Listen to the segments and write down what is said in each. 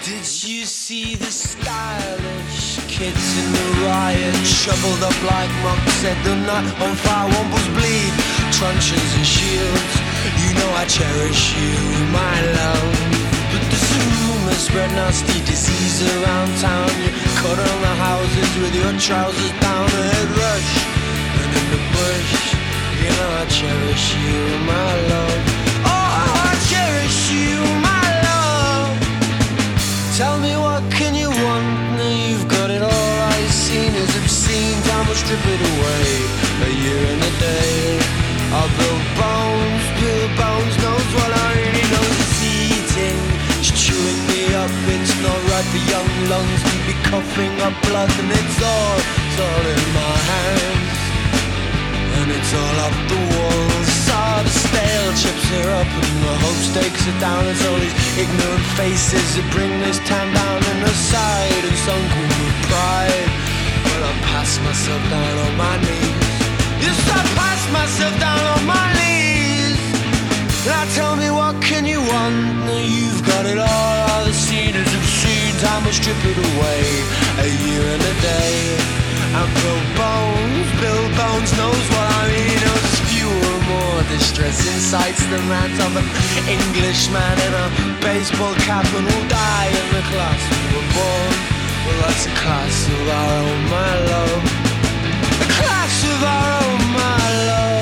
Did you see the stylish kids in the riot? Shoveled up like monks, set the night on fire, wombles bleed, truncheons and shields. You know I cherish you, my love. But there's a rumor spread nasty disease around town. You cut on the houses with your trousers down, a head rush. And in the bush, you know I cherish you, my love. Oh, I cherish you, my love. Tell me what can you want? Now you've got it all. All you've seen is obscene. Time will strip it away. A year and a day. I'll build bones knows what I really know. It's eating, it's chewing me up. It's not right for young lungs to be coughing up blood. And it's all in my hands. And it's all up the walls. All the stale chips are up and the hope stakes are down. It's all these ignorant faces that bring this town down. And aside and sunken with pride. But I pass myself down on my knees. Yes, I pass myself down on my knees. Now tell me what can you want? Now you've got it all. All the scene is obscene. Time will strip it away. A year and a day. And Bill Bones knows what I mean. There's fewer, more distressing sights than that of an Englishman in a baseball cap and who'll die in the class we were born. Well, that's a class of our own, my love. A class of our own, my love.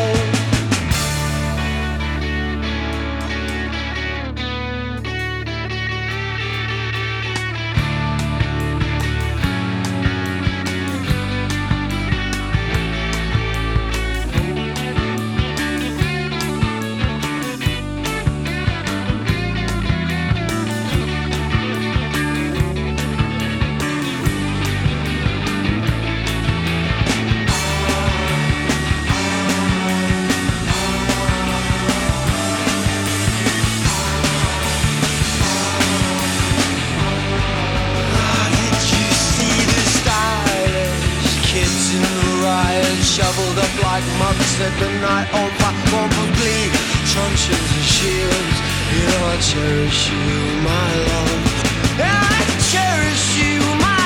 Shoveled up like monks at the night on fire, wombles bleed, truncheons and shields. You know I cherish you, my love. Yeah, I cherish you, my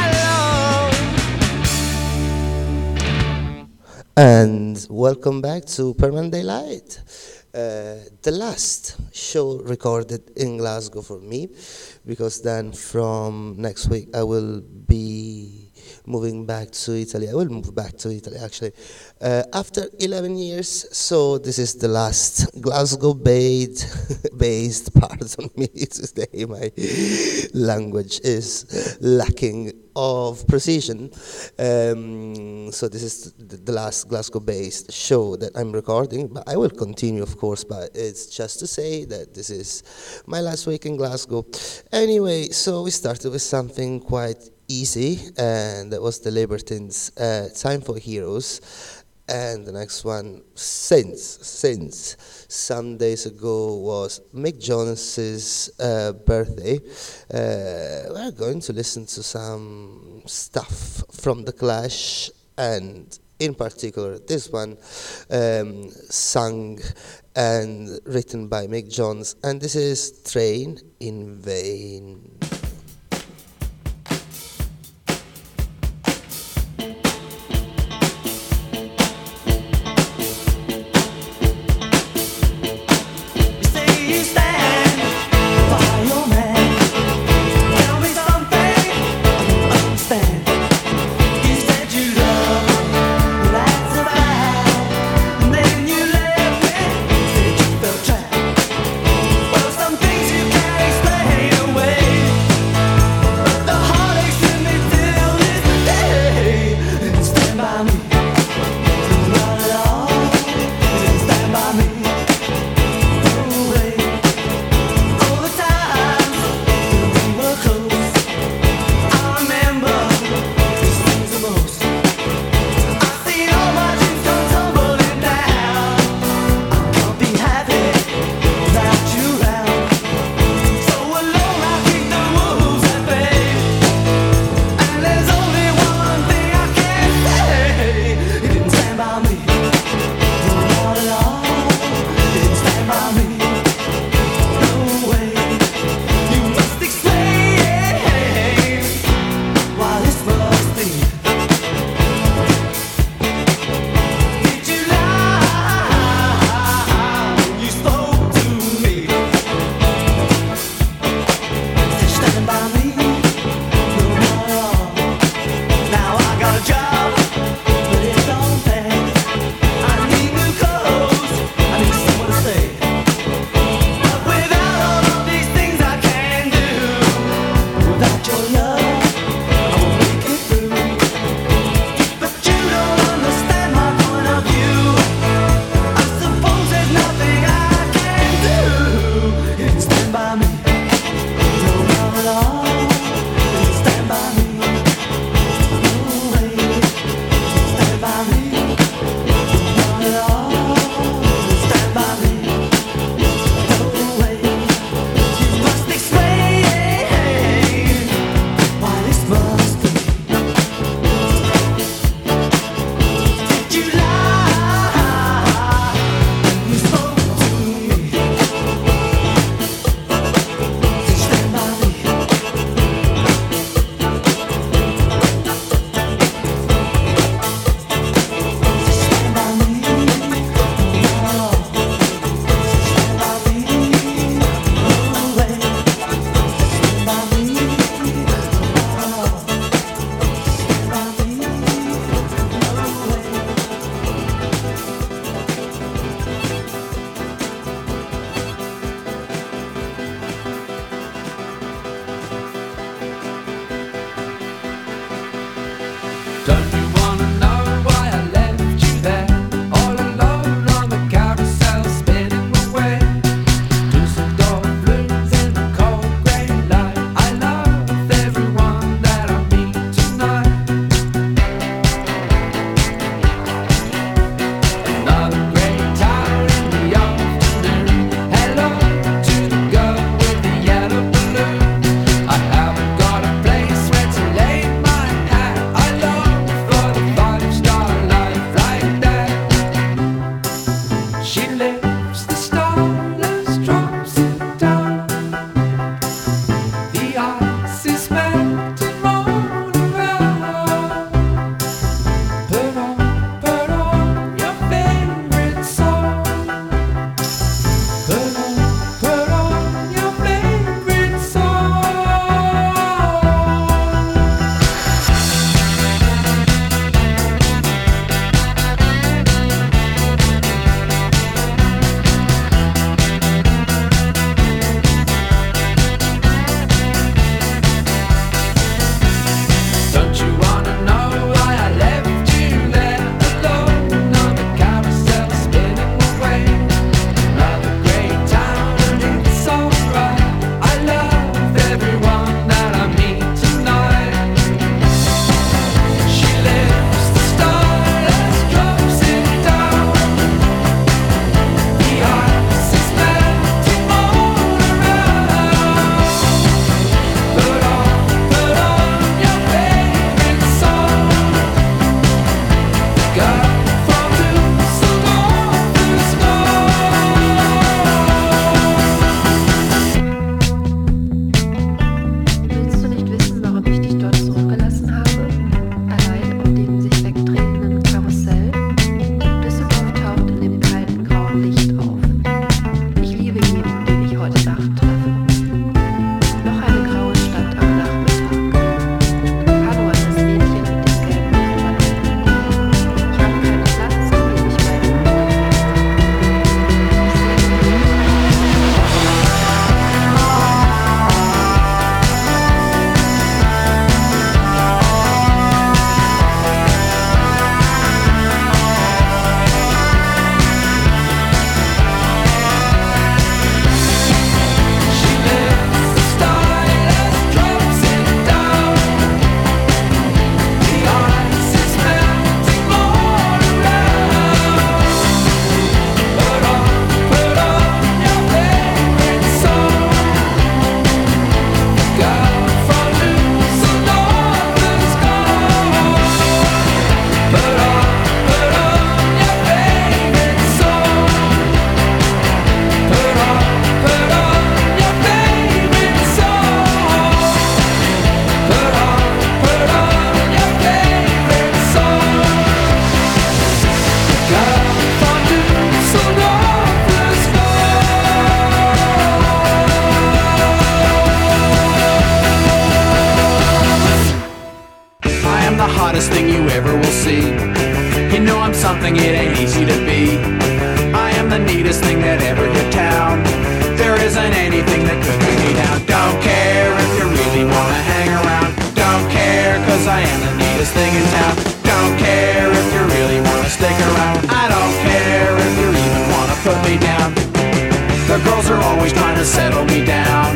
love. And welcome back to Permanent Daylight. The last show recorded in Glasgow for me, because then from next week I will be moving back to Italy. I will move back to Italy actually after 11 years. So this is the last Glasgow-based pardon me today. My language is lacking of precision. So this is the last Glasgow-based show that I'm recording, but I will continue, of course, but it's just to say that this is my last week in Glasgow. Anyway, so we started with something quite easy, and that was the Libertines' Time for Heroes. And the next one, since some days ago was Mick Jones's birthday, we're going to listen to some stuff from The Clash, and in particular this one sung and written by Mick Jones, and this is Train in Vain. Some things you can't explain away. hottest thing you ever will see. You know I'm something it ain't easy to be. I am the neatest thing that ever hit town. There isn't anything that could bring me down. Don't care if you really wanna hang around. Don't care, cause I am the neatest thing in town. Don't care if you really wanna stick around. I don't care if you even wanna put me down. The girls are always trying to settle me down.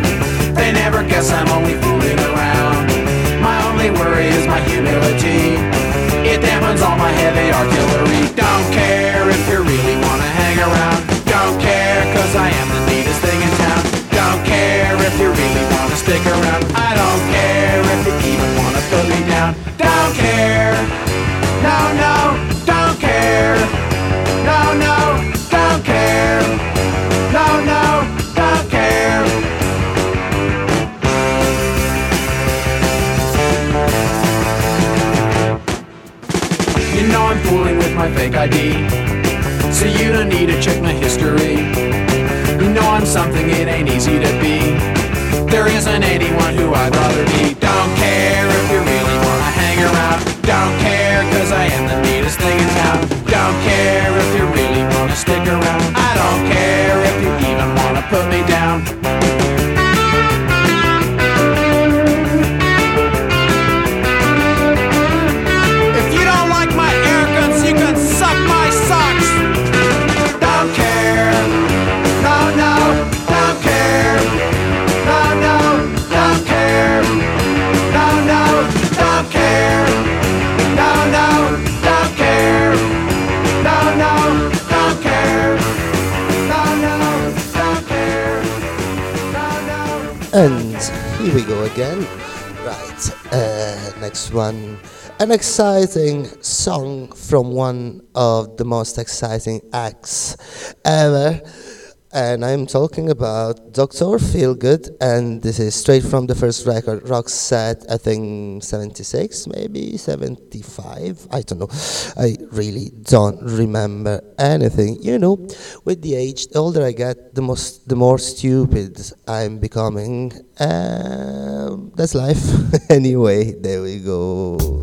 stick around. I don't care if you even wanna put me down. Don't care. No, no, don't care. No, no, don't care. No, no, don't care. You know I'm fooling with my fake ID, so you don't need to check my history. You know I'm something it ain't easy to be. There isn't anyone who I'd rather be. Don't care if you really wanna hang around. Don't care cause I am the neatest thing in town. Don't care if you really wanna stick around. I don't care if you even wanna put me down. If you don't like my air guns, you can suck my socks. Don't care. No, no, don't care. No, no, don't care. No, no, don't care. No, no, don't care. No, no, don't care. No, no, don't care. No, no. And here we go again. Right, next one. An exciting song from one of the most exciting acts ever. And I'm talking about Dr. Feelgood, and this is straight from the first record, Roxette, I think 76, maybe 75, I don't know. I really don't remember anything. You know, with the age, the older I get, the more stupid I'm becoming. That's life. Anyway, there we go.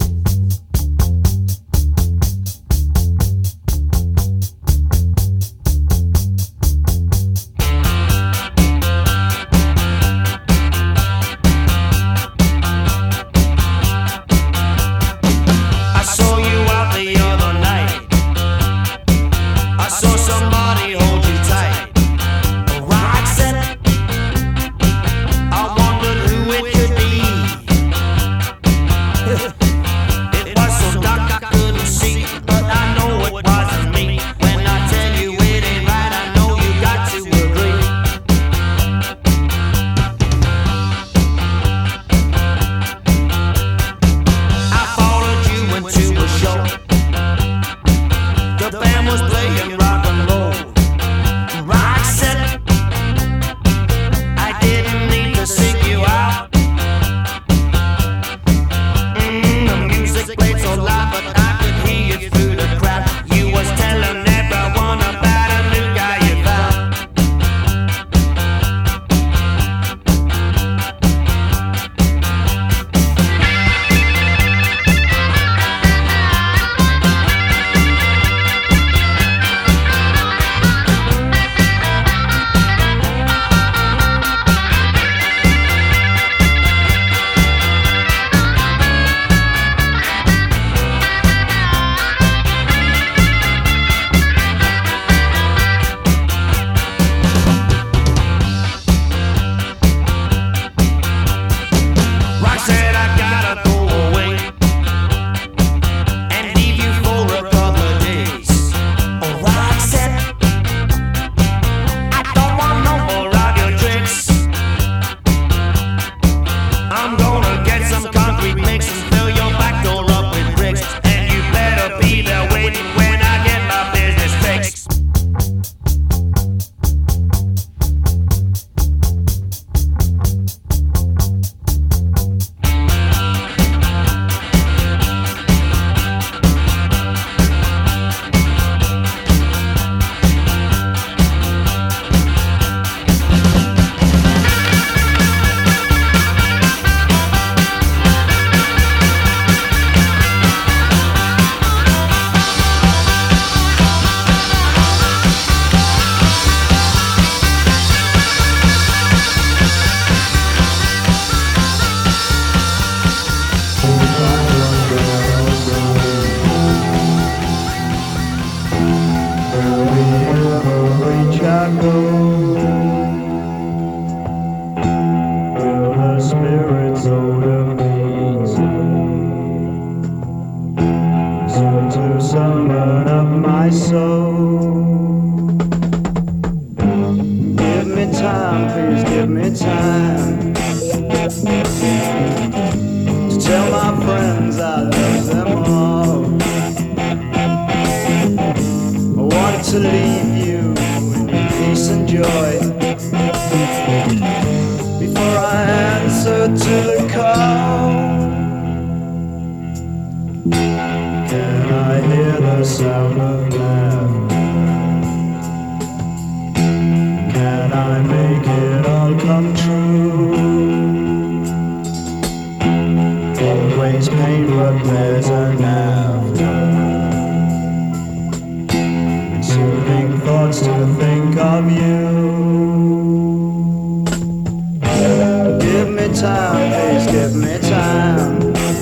time, please give me time.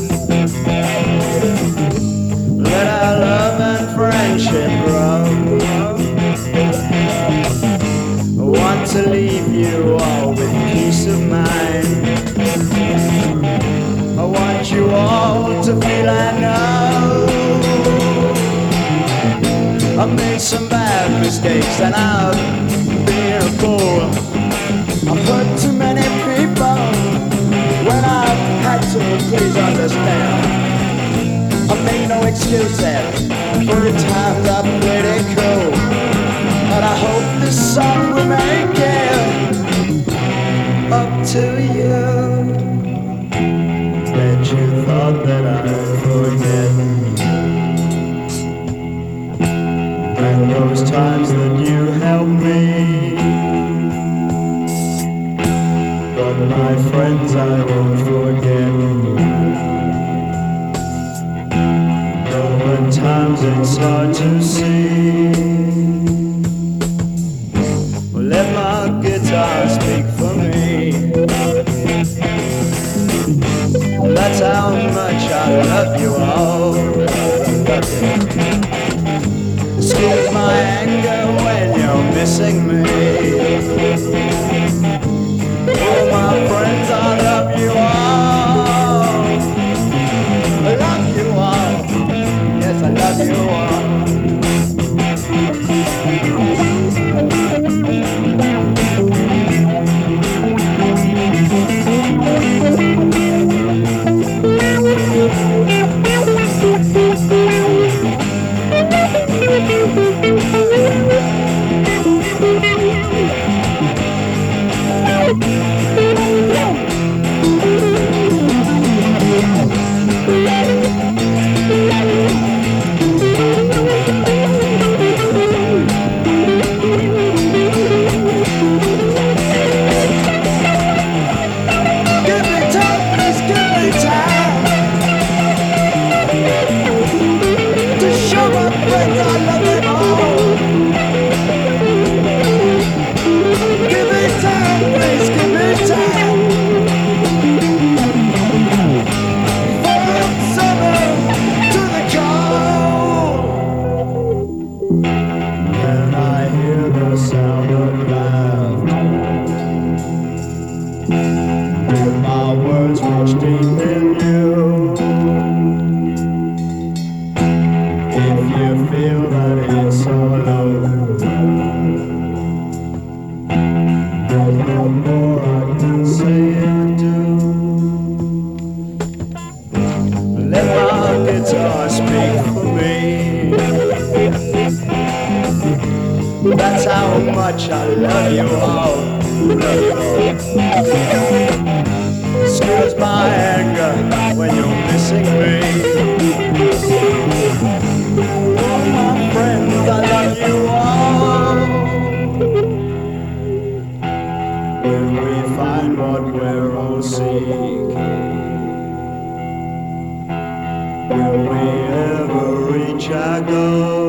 Let our love and friendship grow. I want to leave you all with peace of mind. I want you all to feel I know I've made some bad mistakes and I've been a fool. I've hurt too many people when I've had to, please understand. I make no excuses for the times I've played it cool. And I hope this song will make it up to you. Bet you thought that I'd forget. And those times that you helped me. But my friends I won't forget. Though at times it's hard to see. Well, let my guitar speak for me. That's how much I love you all. Excuse my anger when you're missing me. Oh, my friends, I love you all. I love you all. Yes, I love you all. That's how much I love you all. Love you all. Excuse my anger when you're missing me. Oh, my friends, I love you all. Will we find what we're all seeking? Will we ever reach our goal?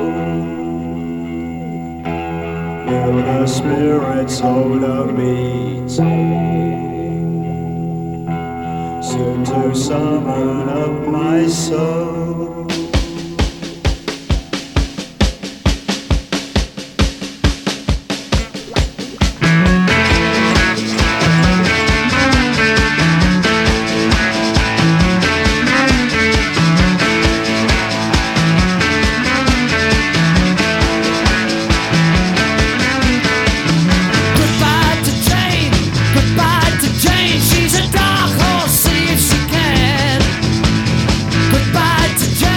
Will the spirits hold a meeting soon to summon up my soul? She's a dark horse, see if she can. Goodbye to Jane.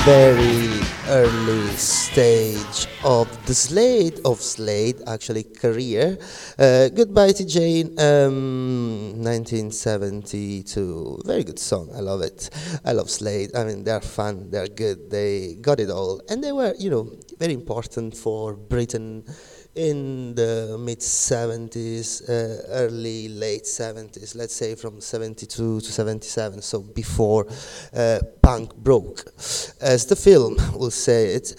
very early stage of the Slade actually career. Goodbye to Jane, 1972. Very good song. I love it. I love Slade. I mean, they're fun. They're good. They got it all, and they were, very important for Britain in the mid 70s, early late 70s, let's say from 72 to 77, so before punk broke, as the film will say it.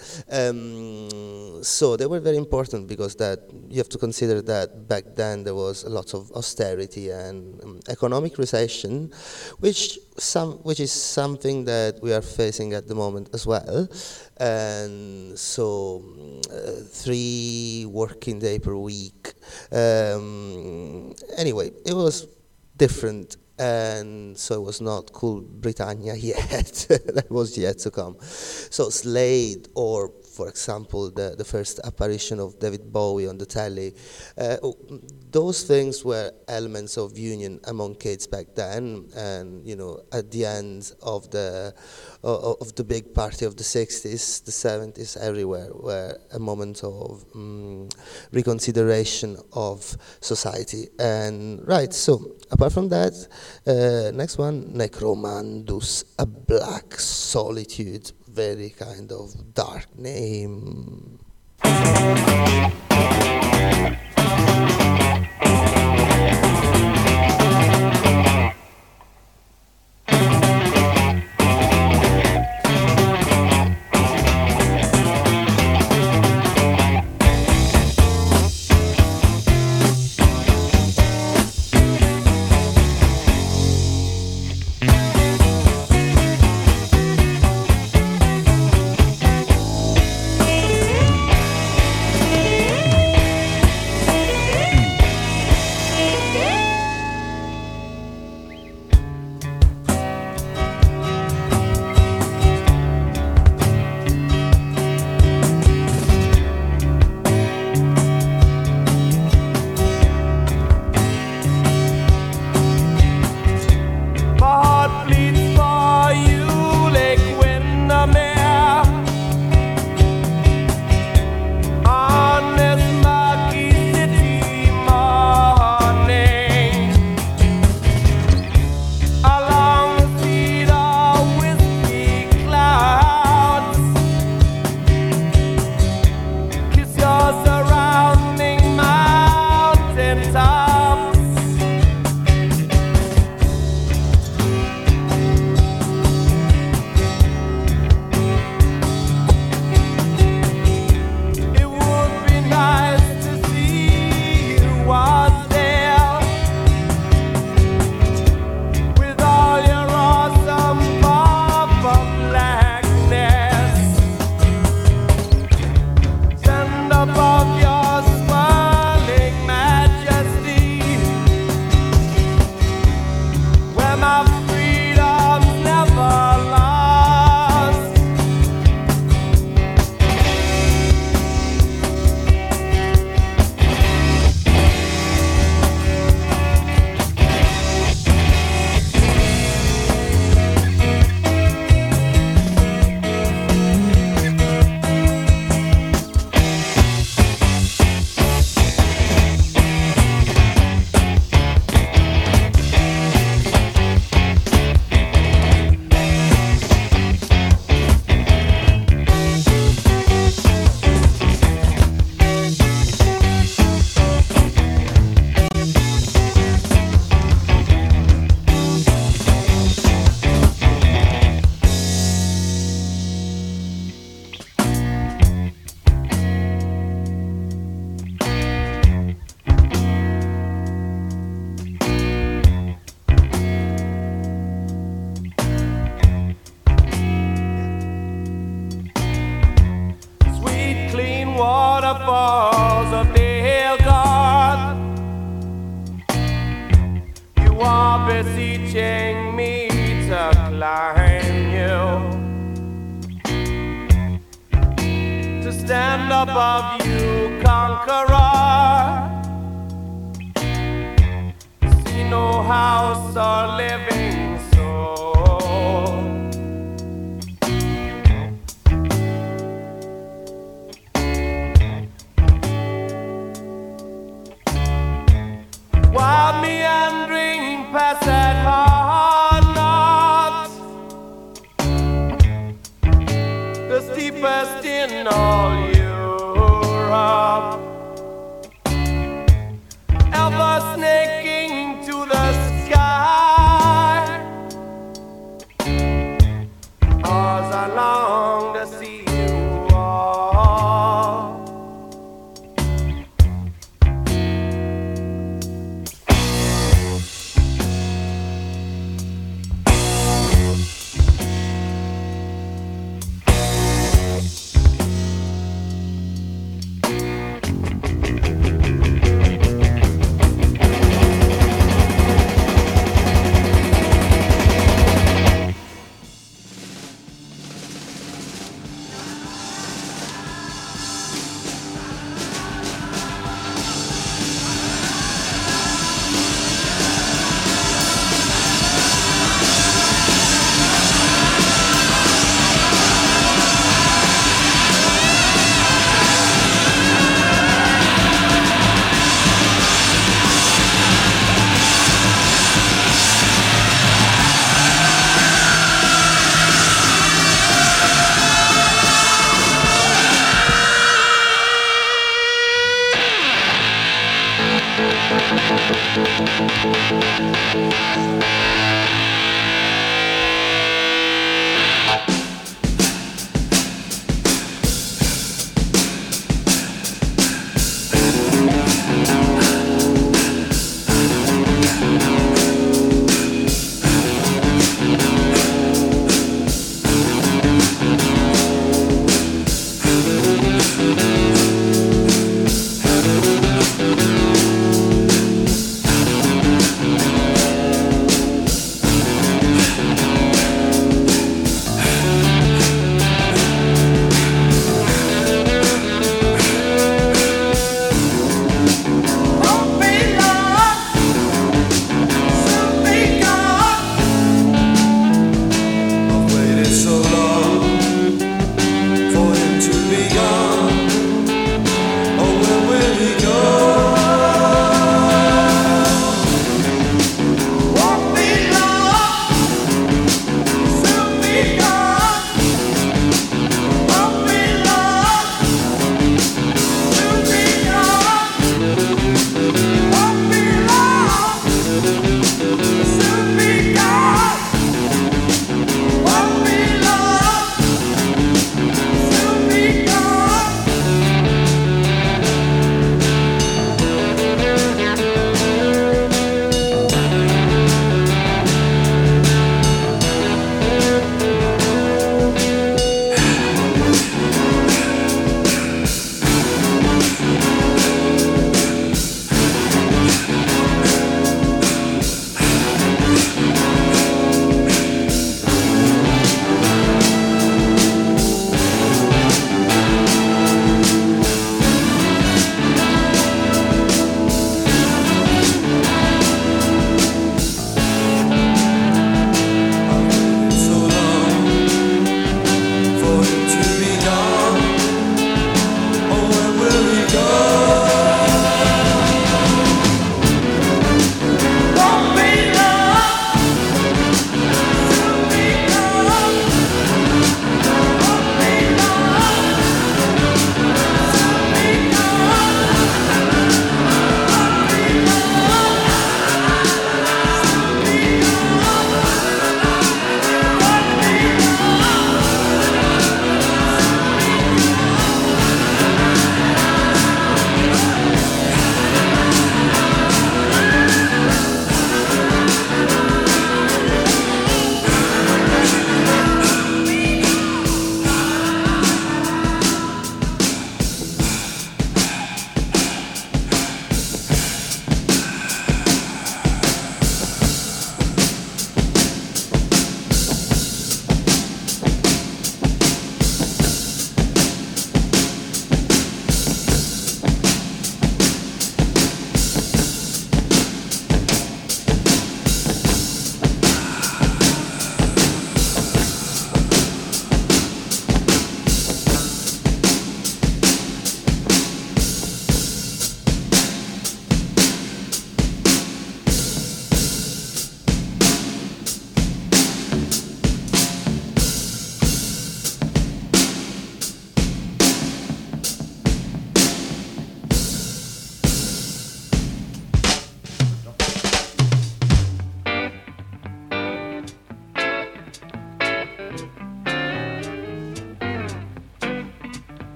So they were very important because that you have to consider that back then there was a lot of austerity and economic recession, which is something that we are facing at the moment as well. And so 3 working day per week. Anyway, it was different, and so it was not Cool Britannia yet. That was yet to come. So Slade, or for example, the first apparition of David Bowie on the telly, those things were elements of union among kids back then. And at the end of the big party of the 60s, the 70s, everywhere were a moment of reconsideration of society. And right, so apart from that, next one, Necromandus, A Black Solitude. Very kind of dark name. waterfalls of Dale, you are beseeching me to climb you, to stand above you, conqueror. See no house or living soul, cheapest in all Europe, ever snaking to the sky, as I long to see you walk.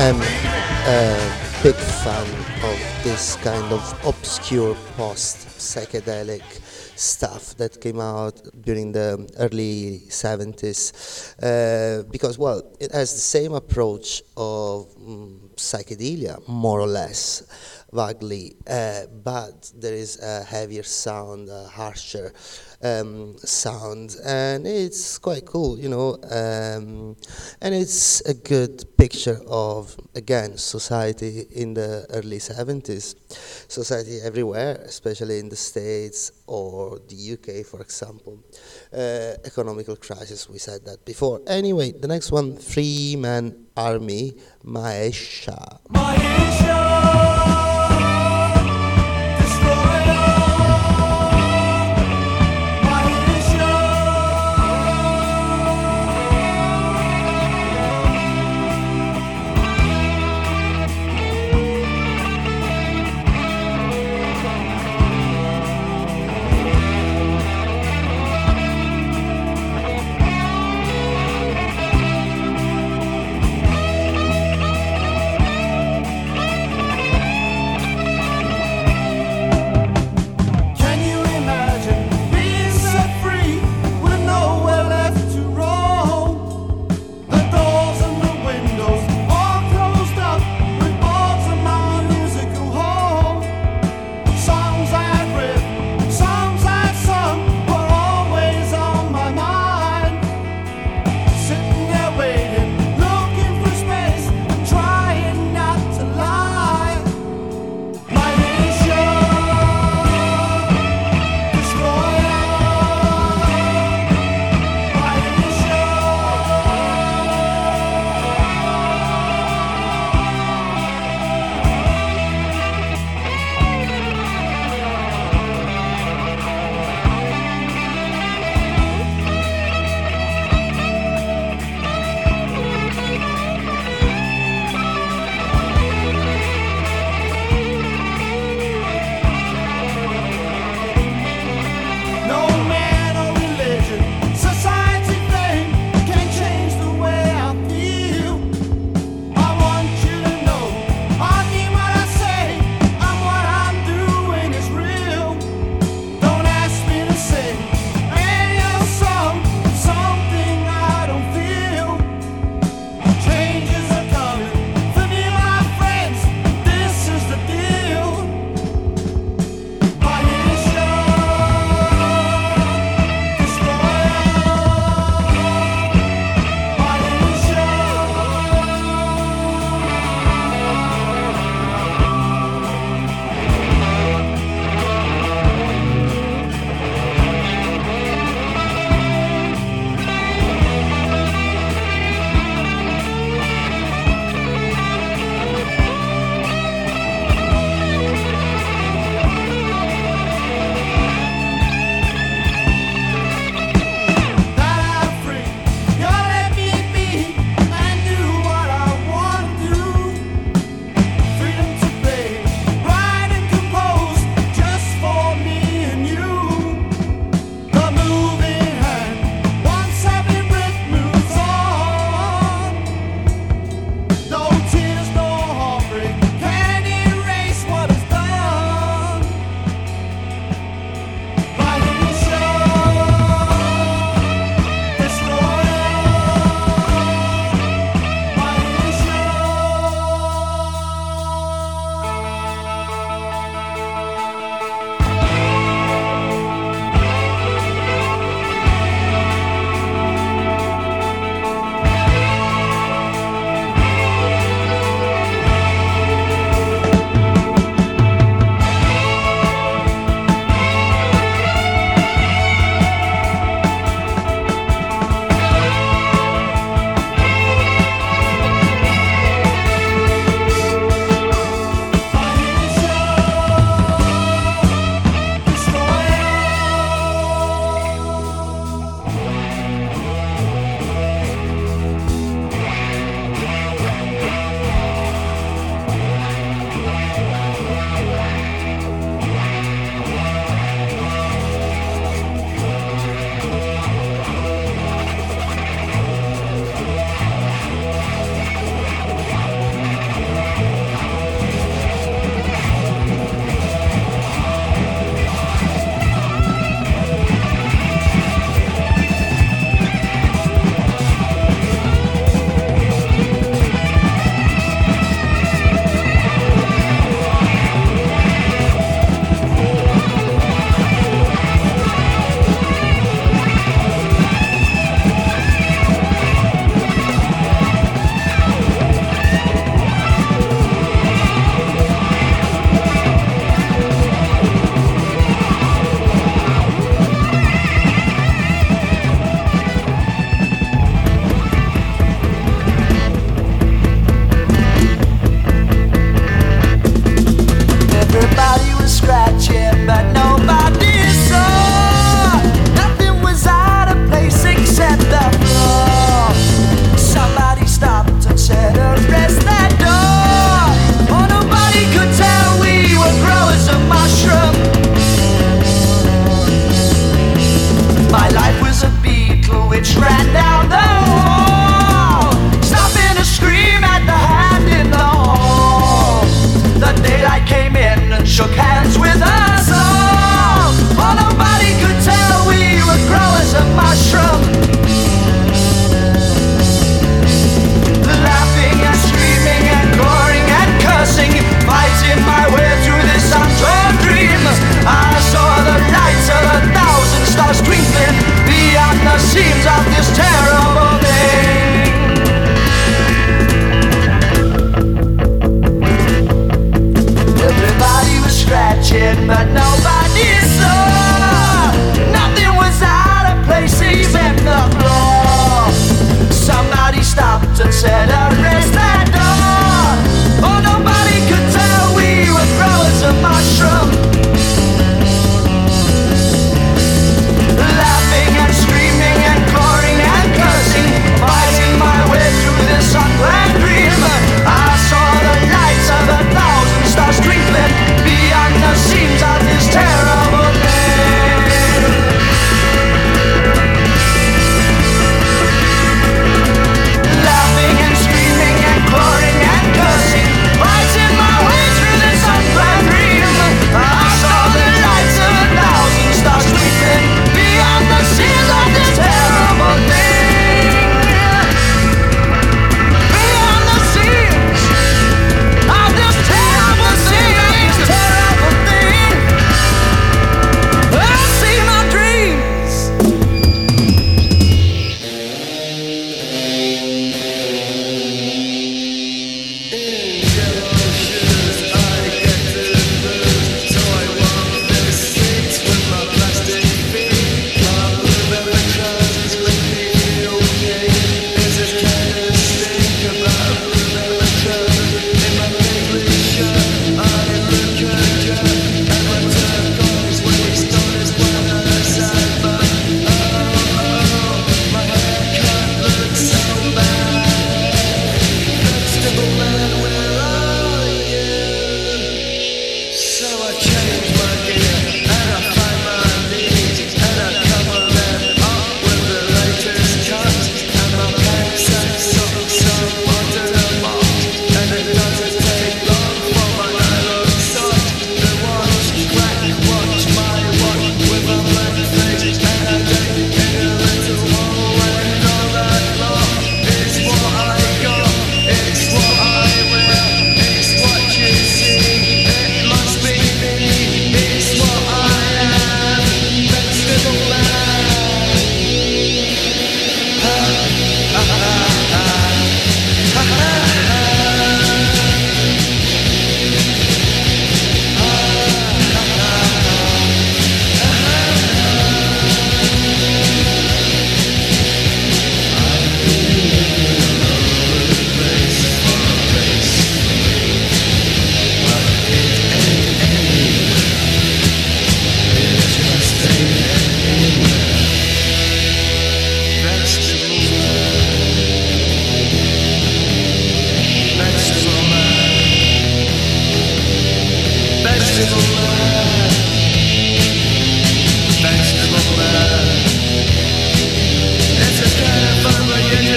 I'm a big fan of this kind of obscure post-psychedelic stuff that came out during the early 70s because, well, it has the same approach of psychedelia, more or less, vaguely, but there is a heavier sound, a harsher sound, and it's quite cool, you know, and it's a good picture of, again, society in the early 70s, society everywhere, especially in the States or the UK, for example. Economical crisis, we said that before. Anyway, the next one, Three Man Army, Maesha.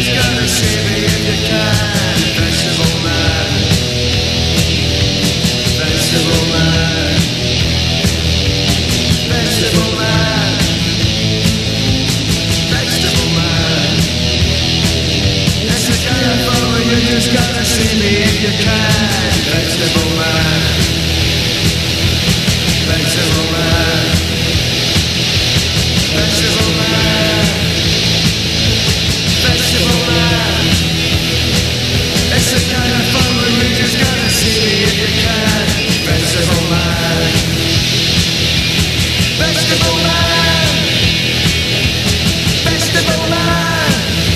just gotta see me if you can. Festival man, festival man, festival man, festival man. It's a kind of fun, you just gotta see me if you can. Festival man, festival man, festival man, festival man. It's a kind of fun, but you just gotta see me if you can. Festival man, festival man, festival man,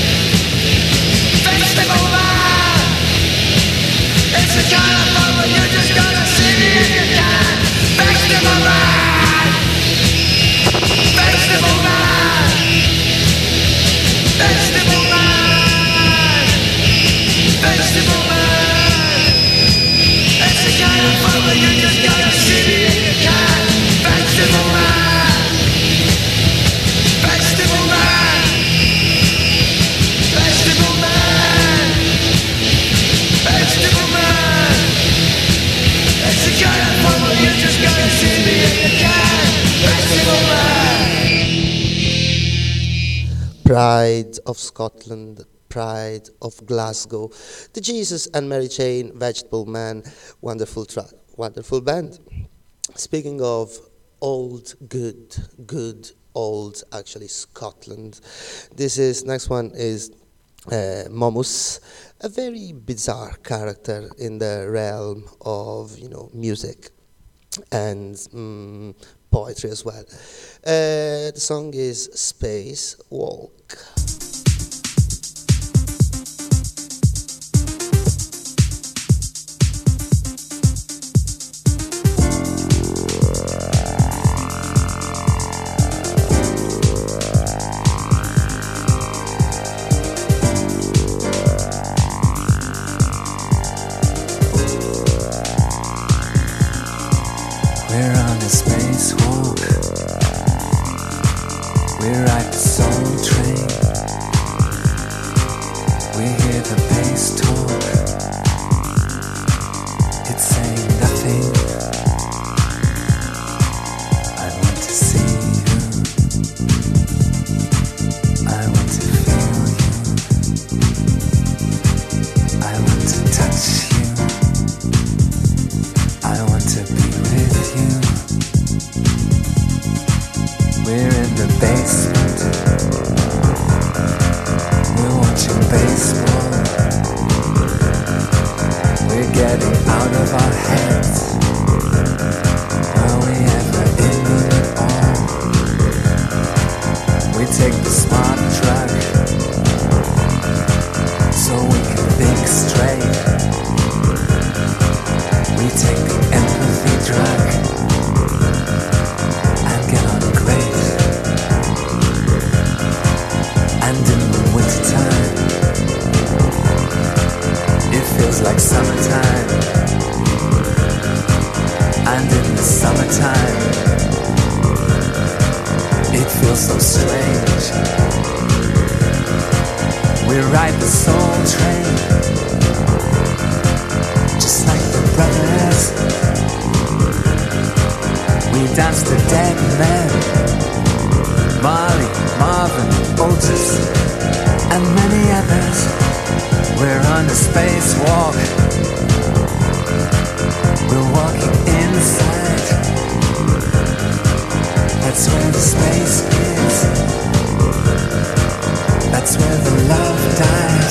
festival man. It's a kind of fun, but you just gotta see me if you can. Festival man, festival man, festival man, festival man. It's a kind of fun, but you just gotta see me if you can. Festival man, festival man, festival man, festival man. It's a kind of fun, but you just gotta see me if you can. Festival man. Pride of Scotland, Pride of Glasgow, the Jesus and Mary Chain, Vegetable Man, wonderful track, wonderful band. Speaking of old, good old, actually Scotland, next one is Momus, a very bizarre character in the realm of, music and poetry as well. The song is Space Walk. We're on a spacewalk. We ride the soul train. We hear the bass talk. It's saying nothing. I want to see you. I want to feel you. I want to touch you. I want to be with you. We're in the basement. We're watching baseball. We're getting out of our heads. Are we ever in it all? We take the smart drug so we can think straight. We take the empathy drug and get on great. And in the wintertime, it feels like summertime. And in the summertime, it feels so strange. We ride the soul train, just like the brothers. We dance to dead men, Marley, Marvin, Otis, and many others. We're on a spacewalk. We're walking inside. That's where the space is. That's where the love died.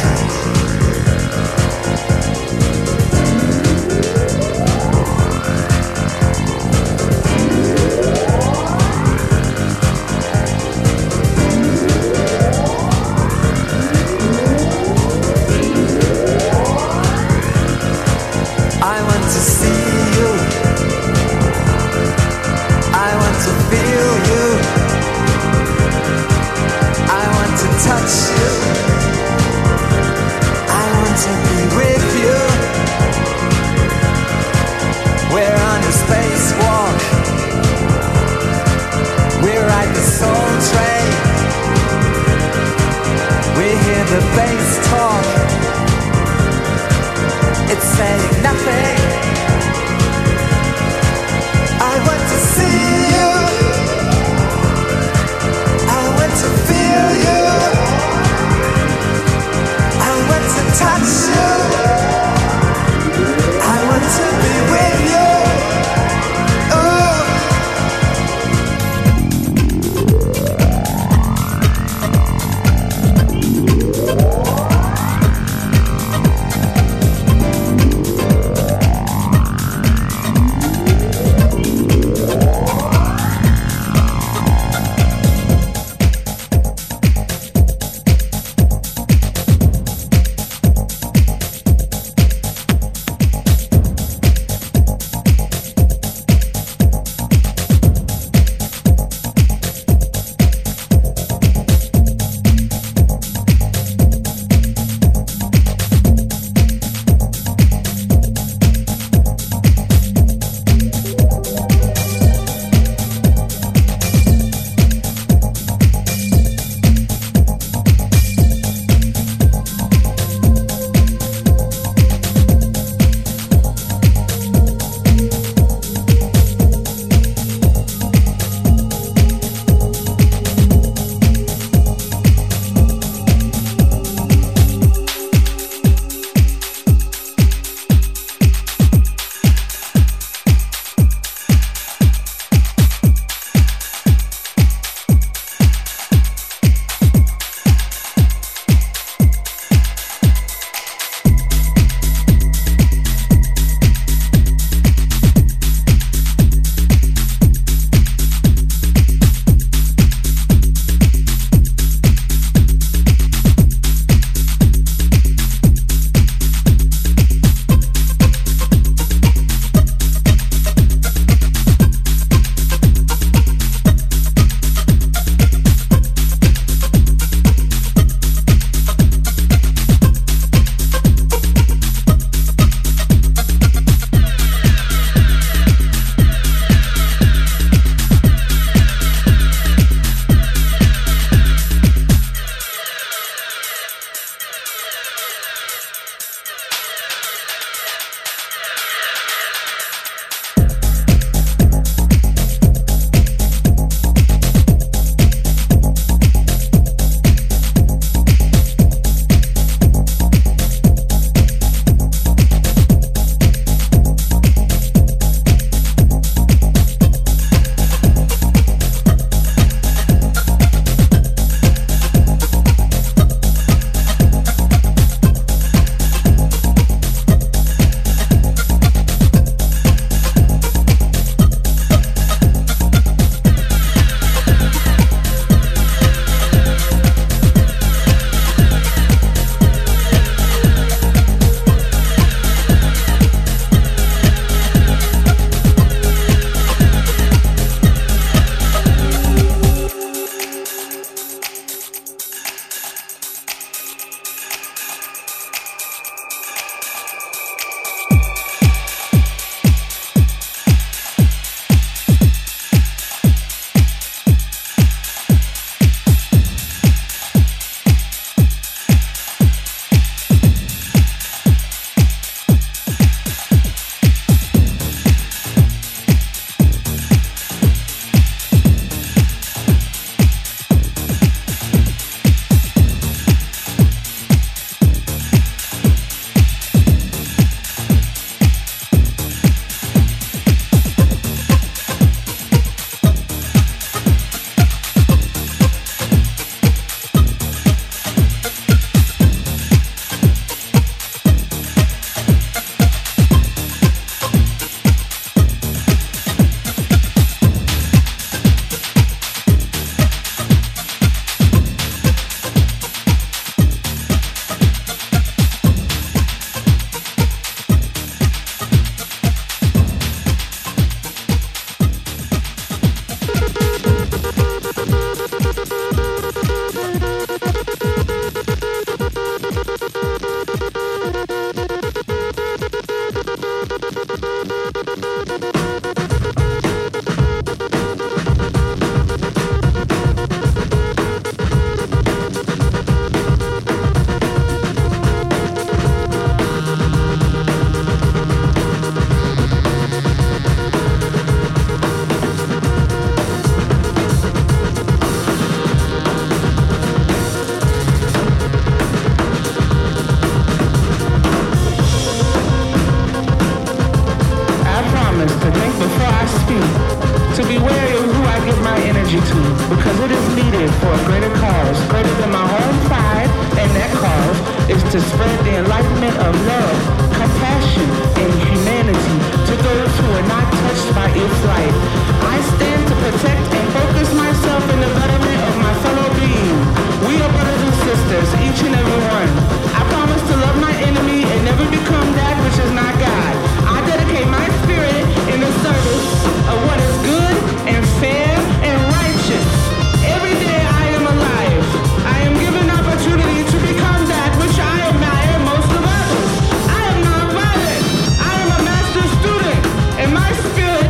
to spread the enlightenment of love, compassion, and humanity to those who are not touched by its light. I stand to protect and focus myself in the betterment of my fellow being. We are brothers and sisters, each and every one. I promise to love my enemy and never become that which is not God. I dedicate my spirit in the service of what is good and fair and righteous. Every day I am alive. I am given opportunity to become that which I admire most of others. I am non-violent. I am a master student, and my spirit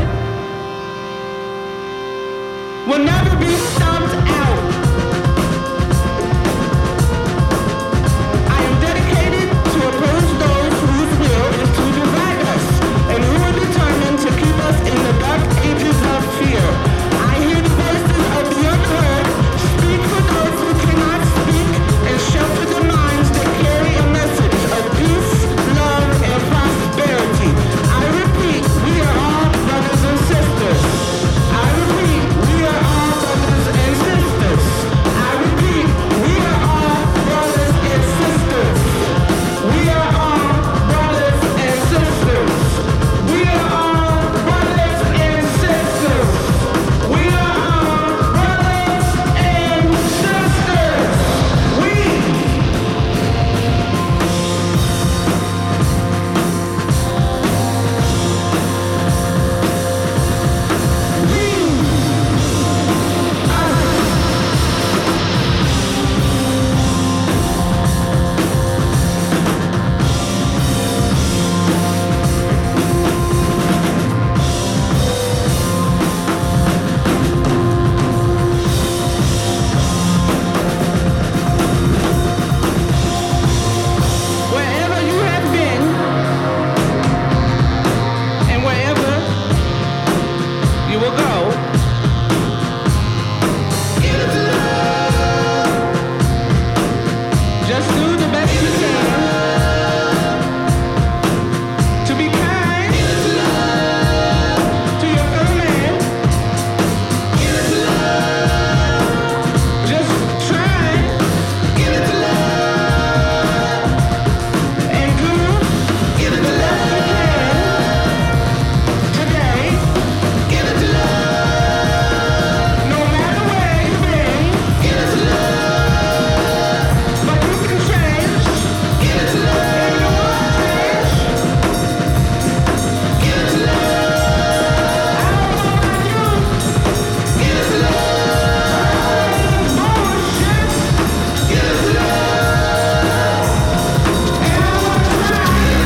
will never be stomped out. I am dedicated to oppose those whose will is to divide us, and who are determined to keep us in the dark ages of fear. I hear the voices of the unheard, speak for those who cannot speak, and shelter the minds that carry a message of peace, love, and prosperity. I repeat, we are all brothers and sisters. I repeat, we are all brothers and sisters. I repeat, we are all brothers and sisters. We are all brothers and sisters. We are all brothers and sisters. We are all brothers and sisters. Wherever you have been, and wherever you will go, give it to love. Just do the best you can to be kind. Give it to love to your fellow man. Give it to love. Just try. Give it to love. And do give it the love you can today. Give it to love. No matter where you've been. Give it to love. But you can change. Give it to love. And you won't change. Give it to love. I don't know about you. Give it to love. Bullshit. Give it to love. And I want to try.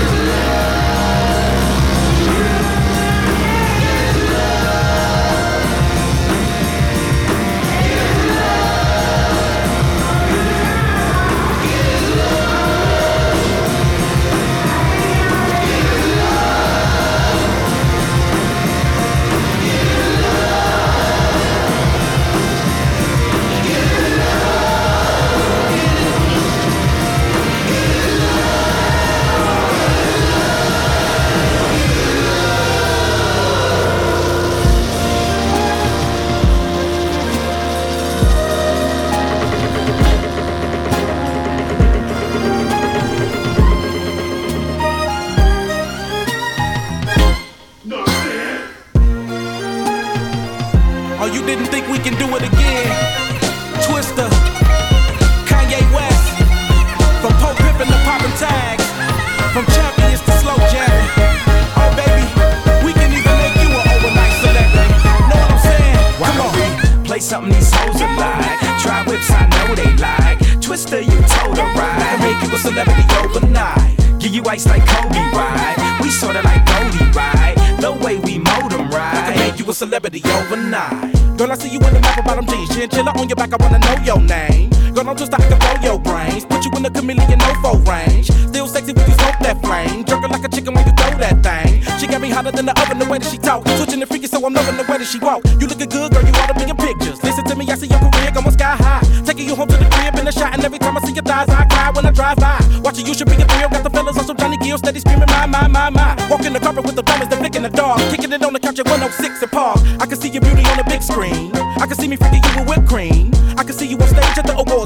Oh, you didn't think we can do it again? Twister, Kanye West, from Pope Pippin to poppin' tags, from champions to slow jamming. Oh baby, we can even make you an overnight celebrity. Know what I'm saying? Come on. Play something these hoes are like. Try whips, I know they like. Twister, you told her right. I make you a celebrity overnight. Give you ice like Kobe, right? We sorta like Goldie, right? The way we mold 'em, right? I can make you a celebrity overnight. Girl, I see you in the map bottom jeans, chinchilla on your back, I wanna know your name. Girl, don't just I can blow your brains, put you in the chameleon no-fo range. Still sexy when you smoke that flame, jerking like a chicken when you throw that thing. She got me hotter than the oven, the way that she talk, switching the freaky, so I'm loving the way that she walk. You looking good, girl, you oughta be in pictures. Listen to me, I see your career going sky high, taking you home to the crib in a shot, and every time I see your thighs, I cry when I drive by. Watching you should be a thrill, got the fellas on some Johnny Gill, steady screaming my. Walking the carpet with the diamonds, they're flicking the dog, kicking it on the couch at 106 and Park. I can see your beauty on the big screen, I can see me freaking you with whipped cream. I can see you on stage at the awards with a dress better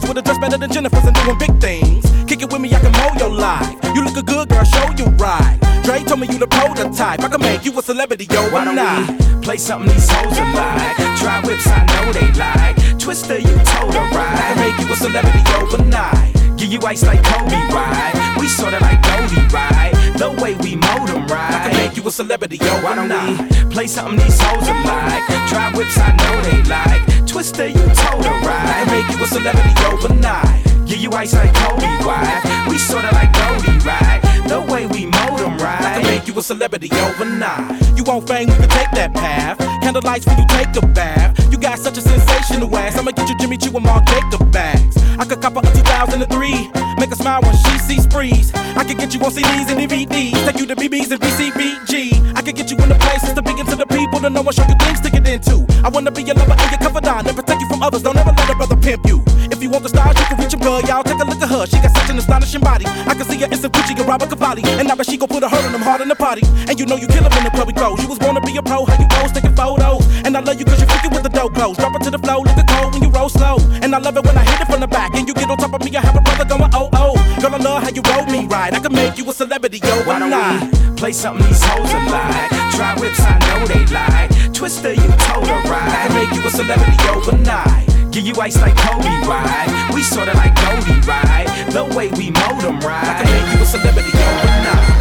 better than Jennifer's and doing big things. Kick it with me, I can mold your life. You look a good girl, show you right. Dre told me you the prototype. I can make you a celebrity overnight. Why don't we play something these hoes are like? Try whips, I know they like. Twister, you told her right. I can make you a celebrity overnight. Give you ice like Kobe, right? We sorta like Goldie, right? The way we mold them, right? I can make you a celebrity overnight. Why don't we play something these hoes are like? Try whips, I know they like. Twister, you told her right. I can make you a celebrity overnight. Give you ice like Kobe, right? We sorta like Goldie, right? The way we mold them, right? I can make you a celebrity overnight. You want fame, we can take that path. Candlelights when you take a bath. You got such a sensational ass. I'ma get you Jimmy Choo and Mark Jacob bags. I could cop her a 2003. Make her smile when she sees sprees. I could get you on CDs and DVDs. Take you to BBs and BCBG. I could get you in the places to begin to the people to know and show you things to get into. I wanna be your lover and your confidant and protect you from others. Don't ever let a brother pimp you. If you want the stars, you can reach a girl. Y'all take a look at her. She got such an astonishing body. I can see her in some Gucci and Robert Cavalli. And now that she gon' put a hurt on them hard in the party. And you know you kill her in the club we close. You was born to be a pro, how you pose, taking photos. And I love you cause you freaking with the dope clothes. Drop it to the flow, look at cold when you roll slow. And I love it when I hit it from the back. And you get on top of me, I have a brother going oh oh. Girl, I love how you roll me right. I can make you a celebrity Why don't overnight. we play something these hoes are like? Try whips, I know they like. Twister, you told her right. I can make you a celebrity overnight. Give you ice like Kobe, right? We sorta like Goldie, right? The way we mold them, right? I can make you a celebrity overnight.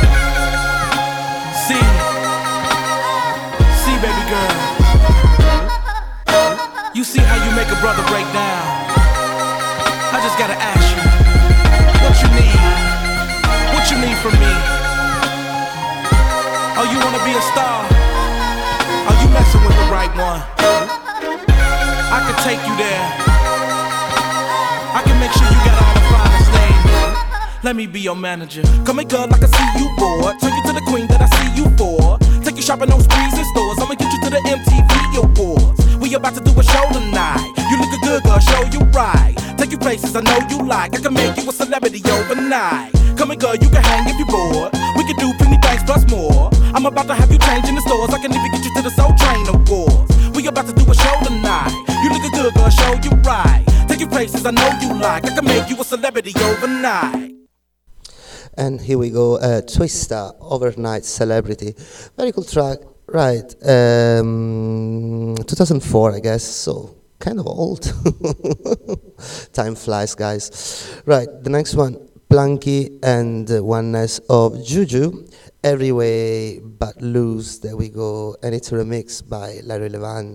See, baby girl. You see how you make a brother break down. I just gotta ask you, what you need? What you need from me? Oh, you wanna be a star? Oh, you messing with the right one. I can take you there. I can make sure you got all the finest things. Let me be your manager. Come here, girl, I can see you bored. Turn you to the queen that I see you for. Take you shopping on sprees and stores. I'ma get you to the MTV Awards. We about to do a show tonight. You look a good girl, show you right. Take you places I know you like. I can make you a celebrity overnight. Come here, girl, you can hang if you're bored. We can do plenty things plus more. I'm about to have you change in the stores. I can even get you to the Soul Train Awards. We about to do a show tonight. You look a good girl, show you right. Take you places I know you like. I can make you a celebrity overnight. And here we go, Twista, Overnight Celebrity. Very cool track, right. 2004, I guess, so kind of old. Time flies, guys. Right, the next one, Plunky and Oneness of Juju. Every Way But Loose, there we go. And it's a remix by Larry Levan.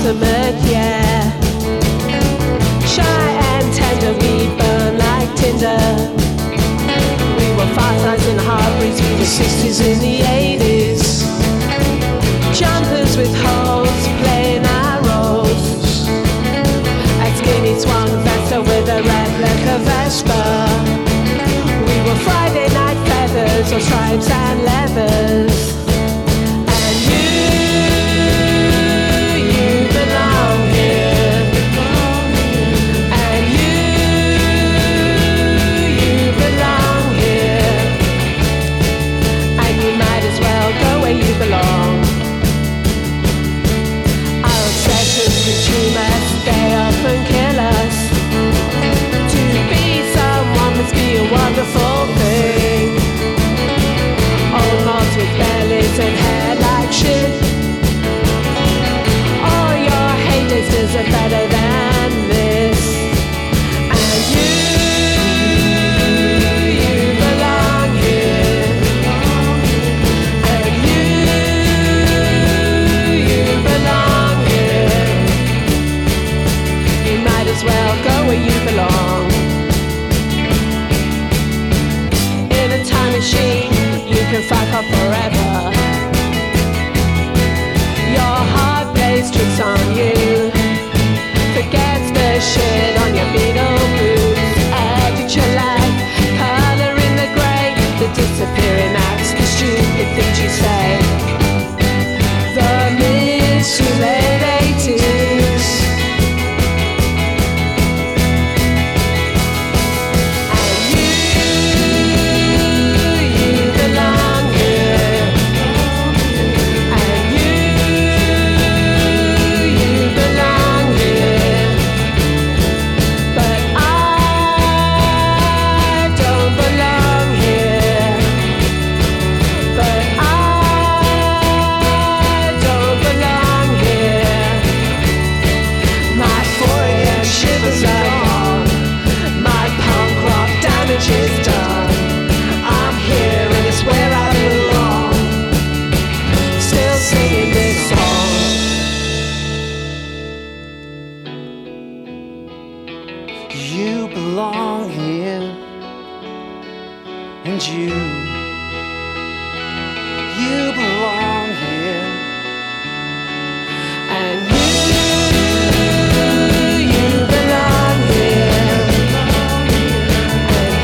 ultimate, yeah. Shy and tender, we burn like tinder. We were fireflies in the heartbreaks through the 60s and the 80s. Jumpers with holes, playing our roles. A skinny swan vesta with a replica Vespa. We were Friday night feathers or stripes and leathers. And you belong here. And you belong here. And you might as well go where you belong. Our obsessions consume us, they often kill us. To be someone must be a wonderful thing. Old moths with bellies and hair like shit. All your haters deserve better than this. And you belong here. And you belong here. You might as well go where you belong. In a time machine, you can fuck off forever. Your heart plays tricks on you. Forgets the shit on your Beatle boots. Edit your life, color in the grey. The disappearing acts, the stupid things you say. The mid to late 80s. And you belong here. And you belong here. But I don't belong here. But I don't belong here. My 4 a.m. shivers are gone. My punk rock damage is done. I'm here and it's where I belong. Still singing this song. You belong here, and you belong here. And you belong here. And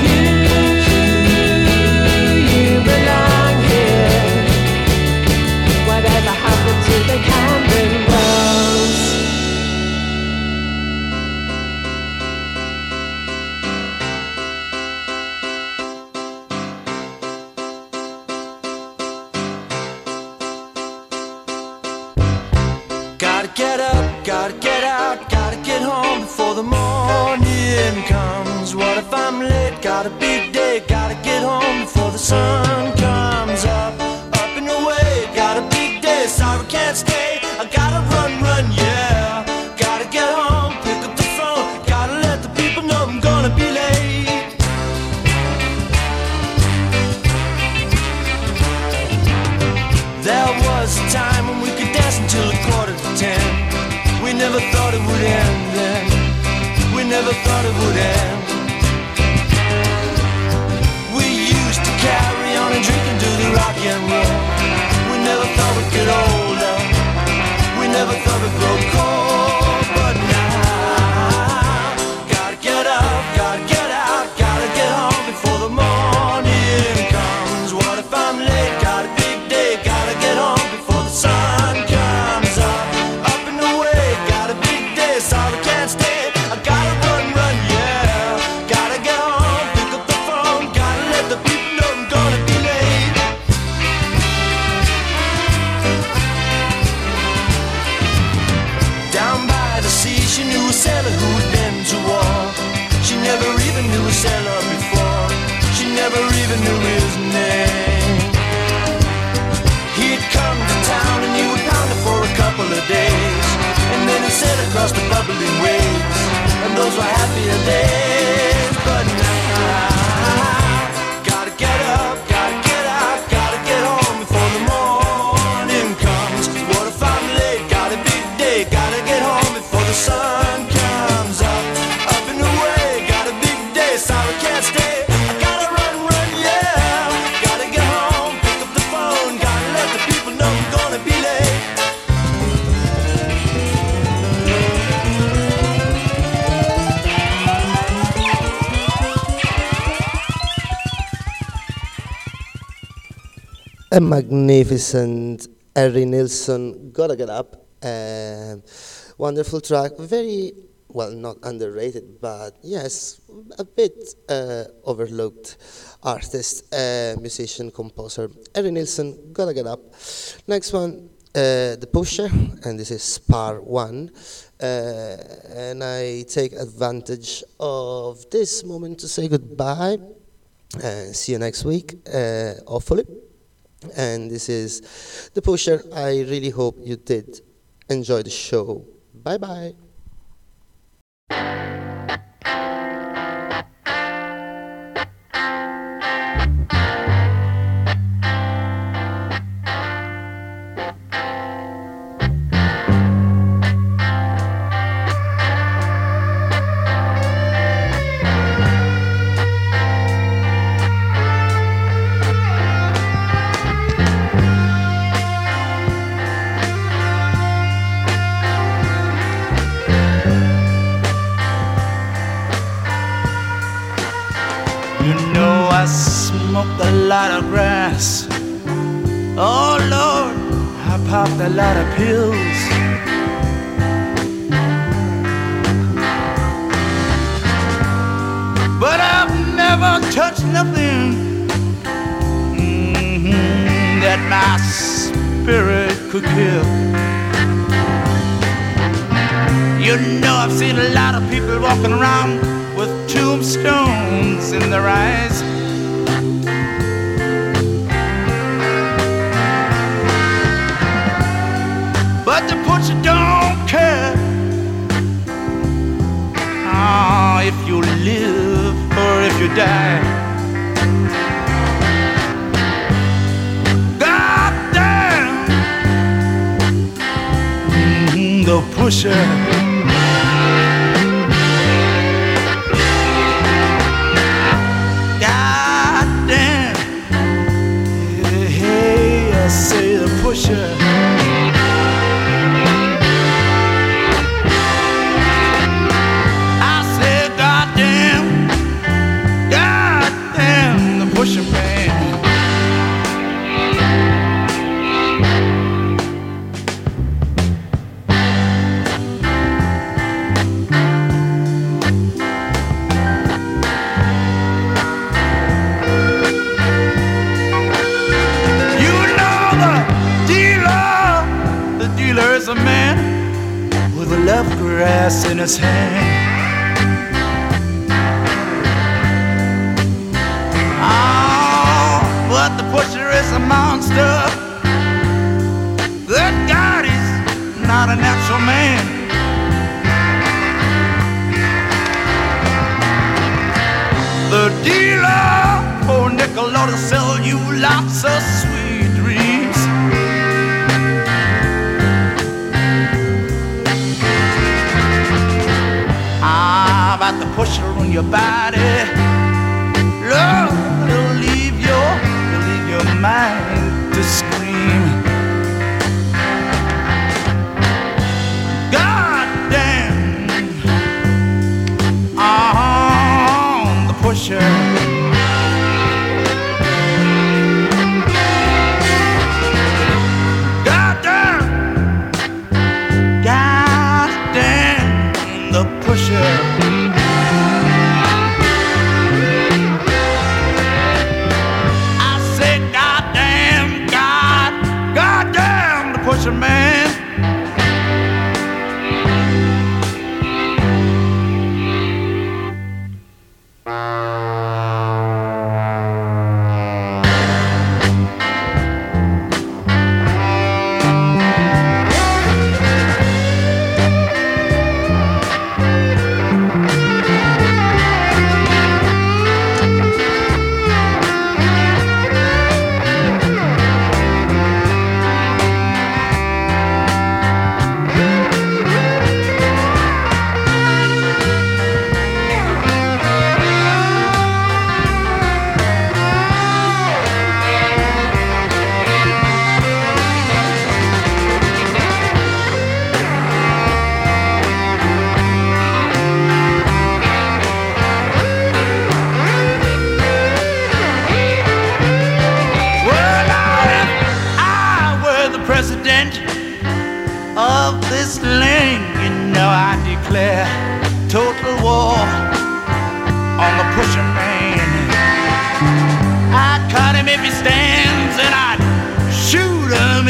you belong here. Whatever happened to the Camden Wells? Gotta get up, gotta get out, gotta get home before the morning comes. What if I'm late? Got a big day, gotta get home before the sun comes up. Up and away, got a big day, sorry can't stay. I gotta run, yeah. Gotta get home, pick up the phone, gotta let the people know I'm gonna be late. There was a time when we could dance until 9:45. We never thought it would end then. We never thought it would end. We used to carry on and drink and do the rock and roll. We never thought we'd get older. We never thought we'd grow cold. But now, gotta get up, gotta get out, gotta get home before the morning comes. What if I'm late? Got a big day, gotta get home before the sun comes up. Up and away, got a big day, sorry can't stay. I gotta run, yeah. a magnificent Harry Nilsson, Gotta Get Up. Wonderful track, very, well, not underrated, but yes, a bit overlooked artist, musician, composer. Harry Nilsson, Gotta Get Up. Next one, The Pusher, and this is Spar 1. And I take advantage of this moment to say goodbye. See you next week, hopefully. And this is The Pusher. I really hope you did enjoy the show. Bye bye. I smoked a lot of grass. Oh Lord, I popped a lot of pills. But I've never touched nothing that my spirit could kill. You know, I've seen a lot of people walking around with tombstones in their eyes. But the pusher don't care if you live or if you die. God damn, the pusher. Say the pusher. I say goddamn, goddamn the pusher man. There's a man with a love grass in his hand. Oh, but the pusher is a monster. Good God, he's not a natural man. The dealer, oh nickel, ought to sell you lots of sweet dreams. About the pusher on your body, Lord, it'll leave your mind to scream. God damn, the pusher. God damn, the pusher. God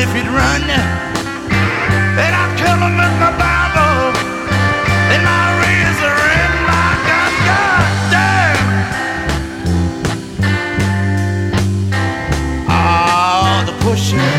if he'd run, then I'd kill him with my Bible and my razor and my gun. God damn! Oh, the pushing